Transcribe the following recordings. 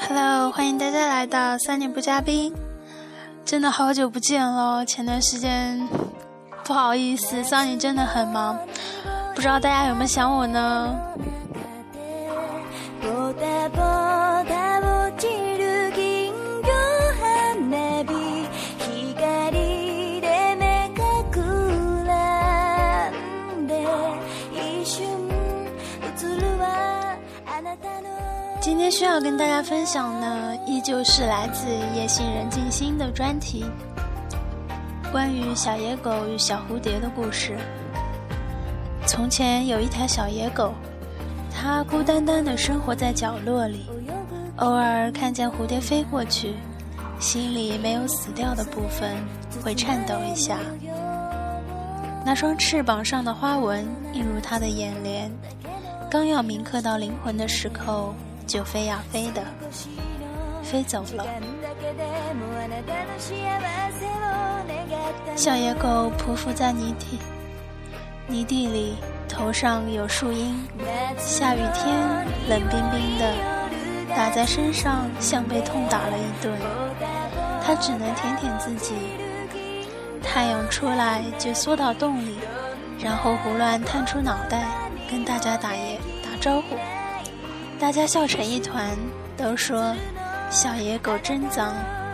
Hello， 欢迎大家来到3年不嘉宾。真的好久不见了，前段时间不好意思，3年真的很忙，不知道大家有没有想我呢？今天需要跟大家分享的依旧是来自夜行人静心的专题，关于小野狗与小蝴蝶的故事。从前有一条小野狗，它孤单单地生活在角落里，偶尔看见蝴蝶飞过去，心里没有死掉的部分会颤抖一下。那双翅膀上的花纹映入它的眼帘，刚要铭刻到灵魂的时候，就飞呀飞的飞走了。小野狗匍匐在泥地里，头上有树荫，下雨天冷冰冰的打在身上，像被痛打了一顿。它只能舔舔自己。太阳出来就缩到洞里，然后胡乱探出脑袋跟大家打招呼。大家笑成一团，都说小野狗真脏。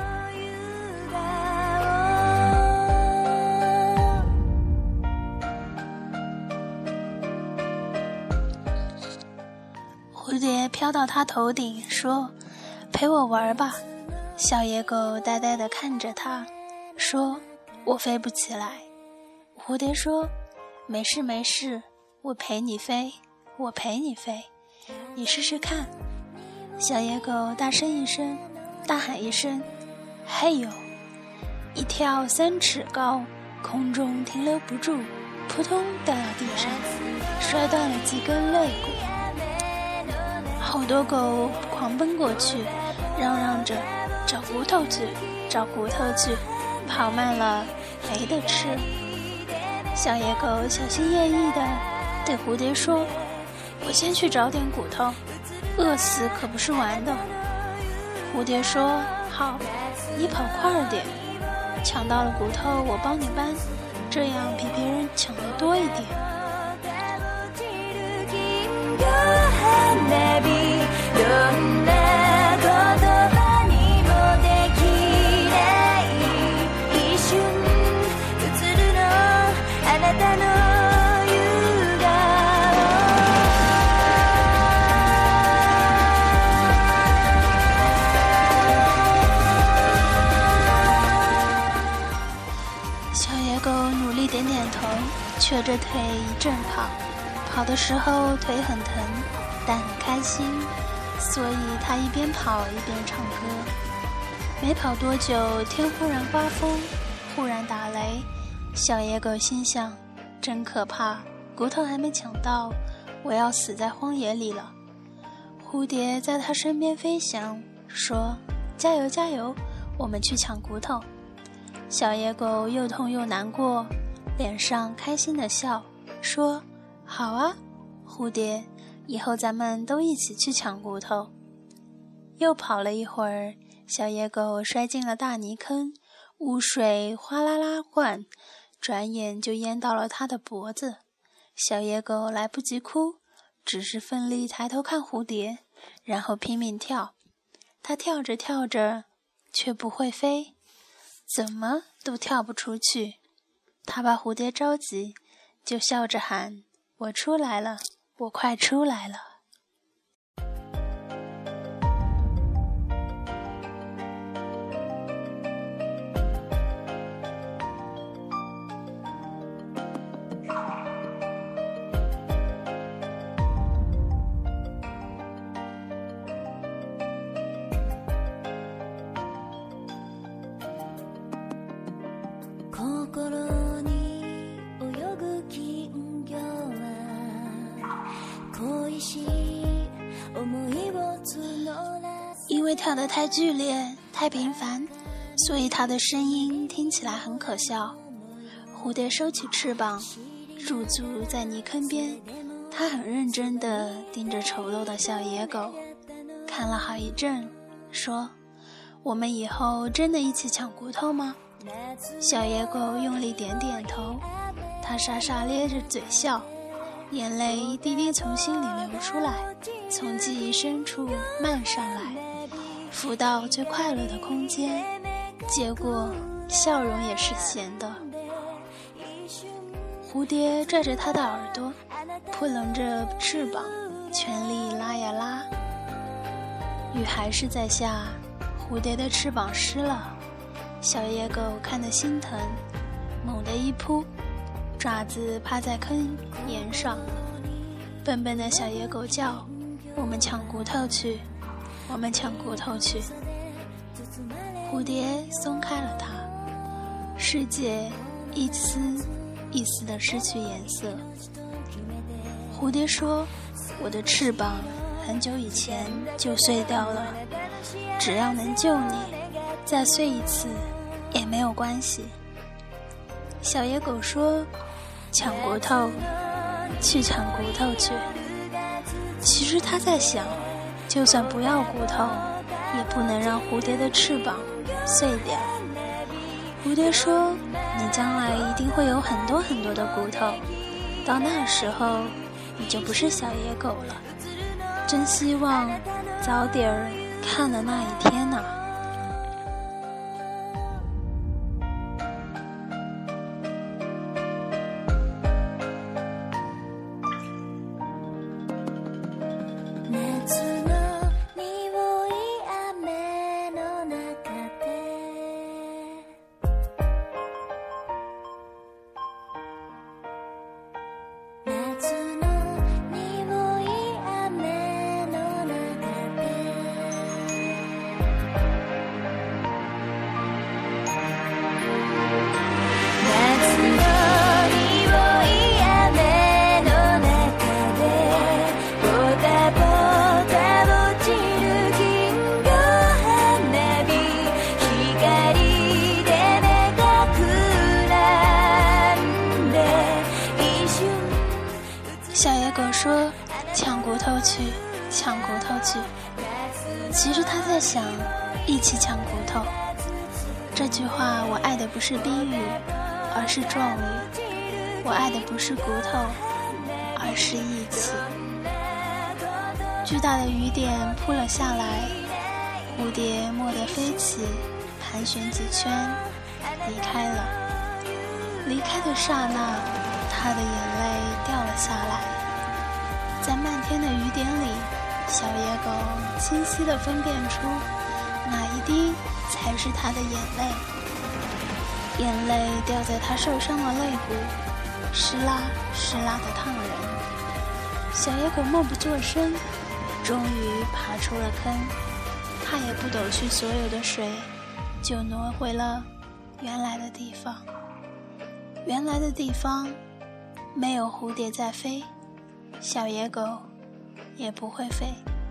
蝴蝶飘到他头顶，说：“陪我玩吧。”小野狗呆呆地看着他，说：“我飞不起来。”蝴蝶说：“没事没事，我陪你飞，我陪你飞。你试试看。”小野狗大喊一声，嘿呦，一跳3尺高，空中停留不住，扑通掉到地上，摔断了几根肋骨。好多狗狂奔过去，嚷嚷着找骨头去，找骨头去，跑慢了没得吃。小野狗小心翼翼地对蝴蝶说：“我先去找点骨头，饿死可不是玩的。”蝴蝶说：“好，你跑快点，抢到了骨头我帮你搬，这样比别人抢得多一点。”瘸着腿一阵跑的时候腿很疼，但很开心，所以他一边跑一边唱歌。没跑多久，天忽然刮风，忽然打雷。小野狗心想：真可怕，骨头还没抢到，我要死在荒野里了。蝴蝶在他身边飞翔，说：“加油加油，我们去抢骨头。”小野狗又痛又难过，脸上开心的笑，说：“好啊，蝴蝶，以后咱们都一起去抢骨头。”又跑了一会儿，小野狗摔进了大泥坑，污水哗啦啦灌，转眼就淹到了它的脖子。小野狗来不及哭，只是奋力抬头看蝴蝶，然后拼命跳。它跳着跳着，却不会飞，怎么都跳不出去。他把蝴蝶着急，就笑着喊：“我出来了，我快出来了。”因为跳得太剧烈太频繁，所以它的声音听起来很可笑。蝴蝶收起翅膀，驻足在泥坑边，它很认真地盯着丑陋的小野狗，看了好一阵， 说：“我们以后真的一起抢骨头吗？”小野狗用力点点头，它傻傻咧着嘴笑，眼泪一滴滴从心里流出来，从记忆深处漫上来，浮到最快乐的空间，结果笑容也是咸的。蝴蝶拽着它的耳朵，扑棱着翅膀，全力拉呀拉。雨还是在下，蝴蝶的翅膀湿了，小野狗看得心疼，猛地一扑，爪子趴在坑沿上。笨笨的小野狗叫：“我们抢骨头去，我们抢骨头去。”蝴蝶松开了它，世界一丝一丝地失去颜色。蝴蝶说：“我的翅膀很久以前就碎掉了，只要能救你，再碎一次也没有关系。”小野狗说：“抢骨头，去抢骨头去。”其实他在想，就算不要骨头，也不能让蝴蝶的翅膀碎掉。蝴蝶说：“你将来一定会有很多很多的骨头，到那时候你就不是小野狗了。真希望早点儿看了那一天啊。”小野狗说：“抢骨头去，抢骨头去。”其实他在想，一起抢骨头。这句话我爱的不是宾语，而是状语。我爱的不是骨头，而是义气。巨大的雨点扑了下来，蝴蝶蓦地飞起，盘旋几圈，离开了。离开的刹那，他的眼泪掉了下来。在漫天的雨点里，小野狗清晰地分辨出哪一滴才是他的眼泪。眼泪掉在他受伤的肋骨，湿啦湿啦的烫人。小野狗默不作声，终于爬出了坑。他也不抖去所有的水，就挪回了原来的地方。原来的地方没有蝴蝶在飞，小野狗也不会飞。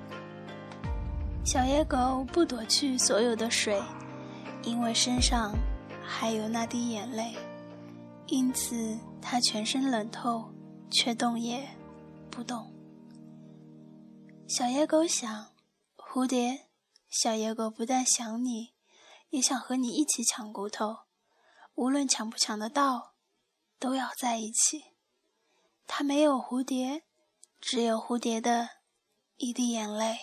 小野狗不躲去所有的水，因为身上还有那滴眼泪，因此它全身冷透，却动也不动。小野狗想，蝴蝶，小野狗不但想你，也想和你一起抢骨头，无论抢不抢得到，都要在一起。它没有蝴蝶，只有蝴蝶的一滴眼泪。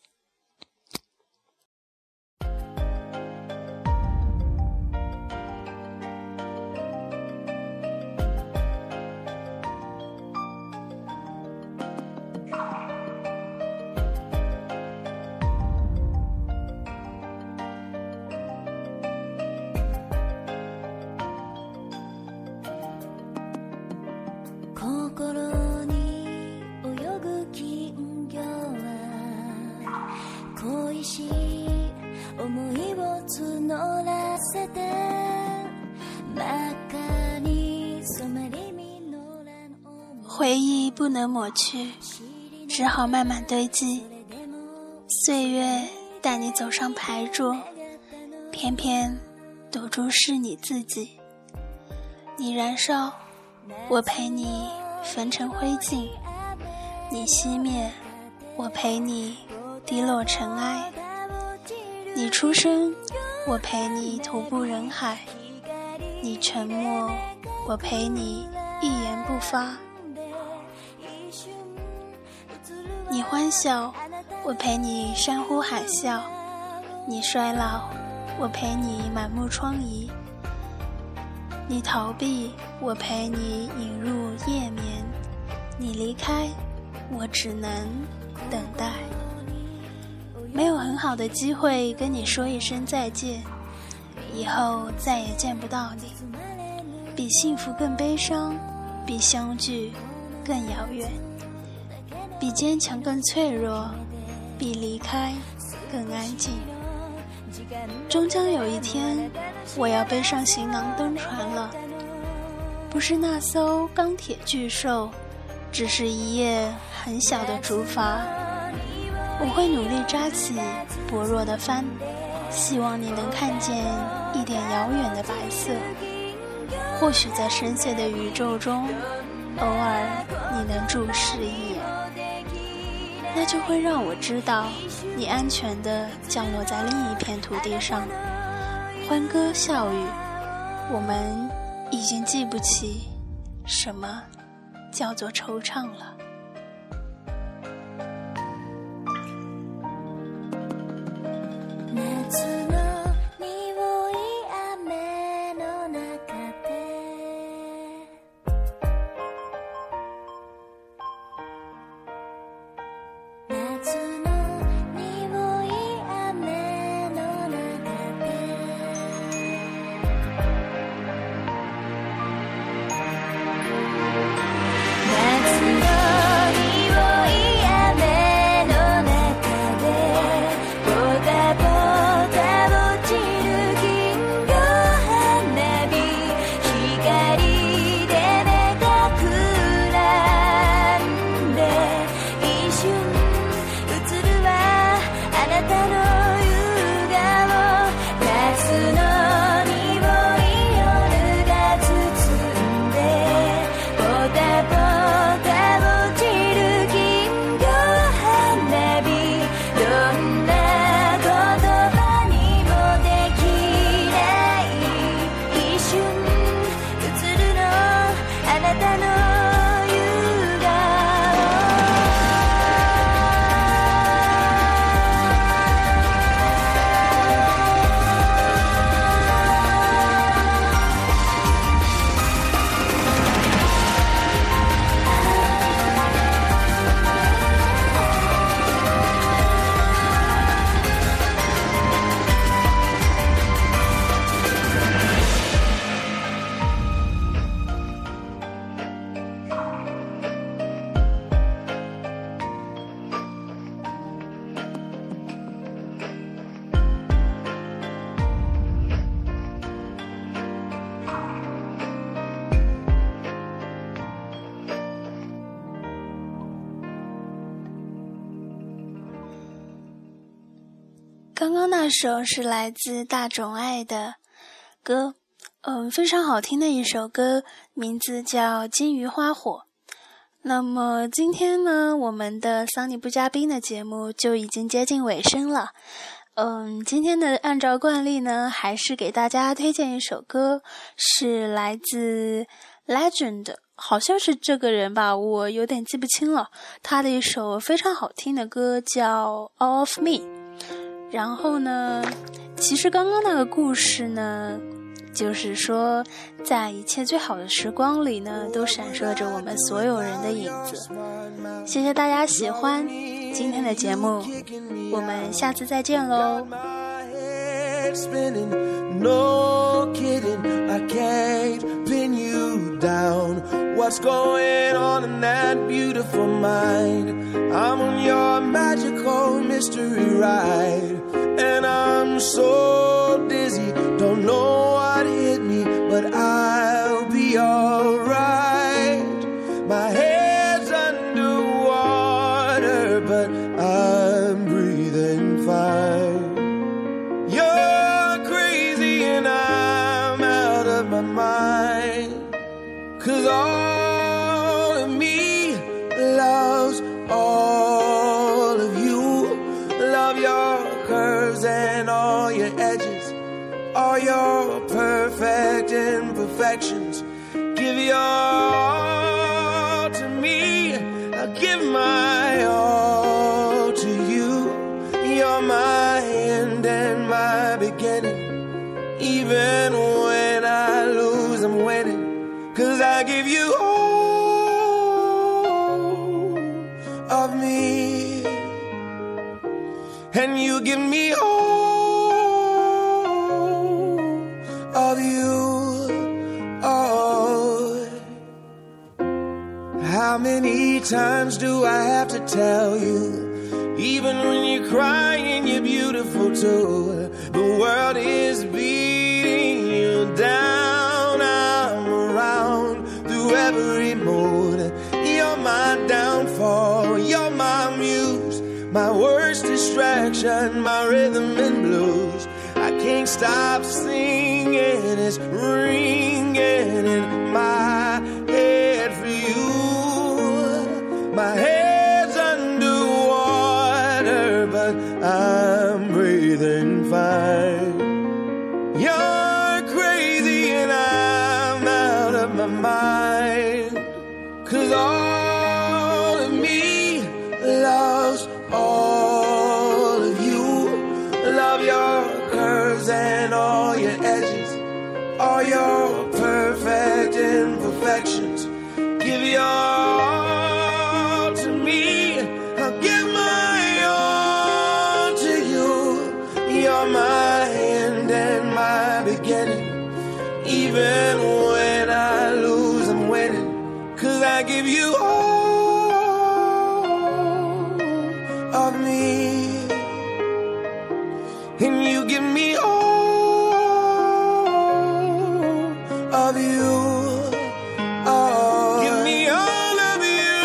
回忆不能抹去，只好慢慢堆积。岁月带你走上牌桌，偏偏赌注是你自己。你燃烧，我陪你焚成灰烬；你熄灭，我陪你滴落尘埃。 你出生，我陪你徒步人海；你沉默，我陪你一言不发；你欢笑，我陪你山呼海啸；你衰老，我陪你满目疮痍；你逃避，我陪你引入夜眠；你离开，我只能等待。没有很好的机会跟你说一声再见，以后再也见不到你。比幸福更悲伤，比相聚更遥远，比坚强更脆弱，比离开更安静。终将有一天，我要背上行囊登船了，不是那艘钢铁巨兽，只是一叶很小的竹筏。我会努力扎起薄弱的帆，希望你能看见一点遥远的白色。或许在深邃的宇宙中，偶尔你能注视一眼，那就会让我知道你安全地降落在另一片土地上。欢歌笑语，我们已经记不起什么叫做惆怅了。刚刚那首是来自大冢爱的歌，非常好听的一首歌，名字叫《金鱼花火》。那么今天呢，我们的桑尼不嘉宾的节目就已经接近尾声了。今天的按照惯例呢，还是给大家推荐一首歌，是来自 Legend， 好像是这个人吧，我有点记不清了。他的一首非常好听的歌叫 All of Me。然后呢，其实刚刚那个故事呢，就是说在一切最好的时光里呢，都闪烁着我们所有人的影子。谢谢大家喜欢今天的节目，我们下次再见喽。No kidding, I can't pin you down. What's going on in that beautiful mind? I'm on your magical mystery ride, and I'm so dizzy, don't know what hit me, but I'll be alright. My head's underwater, but I'm breathing fine. My mind, 'cause all of me loves all of you. Love your curves and all all your edges, all your perfect imperfections. Give your all to me, I'll give my all to you. You're my end and my beginning. Even when I lose, I'm winning. 'Cause I give you all of me, and you give me all of you. Oh, how many times do I have to tell you, even when you're crying, you're beautiful too. The world is beating you down, I'm around through every mood. You're my downfall, you're my muse, my worst distraction, my rhythm and blues. I can't stop singing, it's ringing in my head for you. My head's underwater, but I'm breathing fine. You're crazy and I'm out of my mind. 'Cause all of me loves all of you. Love your curves and all your edges, all your perfect imperfections. Give your all to me, I'll give my all to you. You're my end and my beginning. Even when I lose, I'm winning. 'Cause I give you all of me, and you give me all of you. Oh, give me all of you.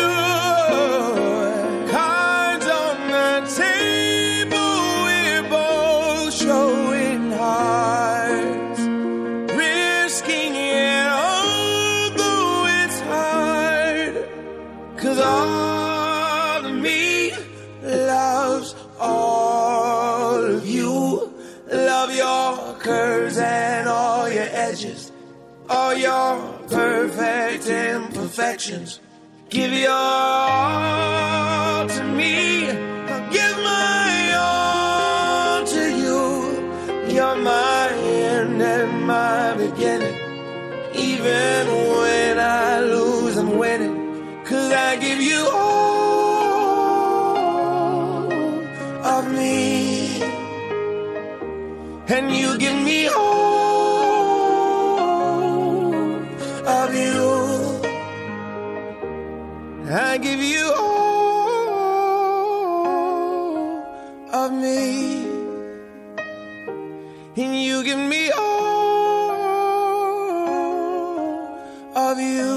Cards on the table, we're both showing hearts, risking it although it's hard. 'Cause all of me loves all of you. Love your curves and all your edges, all your perfect imperfections. Give your all to me, I'll give my all to you. You're my end and my beginning. Even when I lose, I'm winning. 'Cause I give you all of me, and you give me all of you. I give you all of me, and you give me all of you.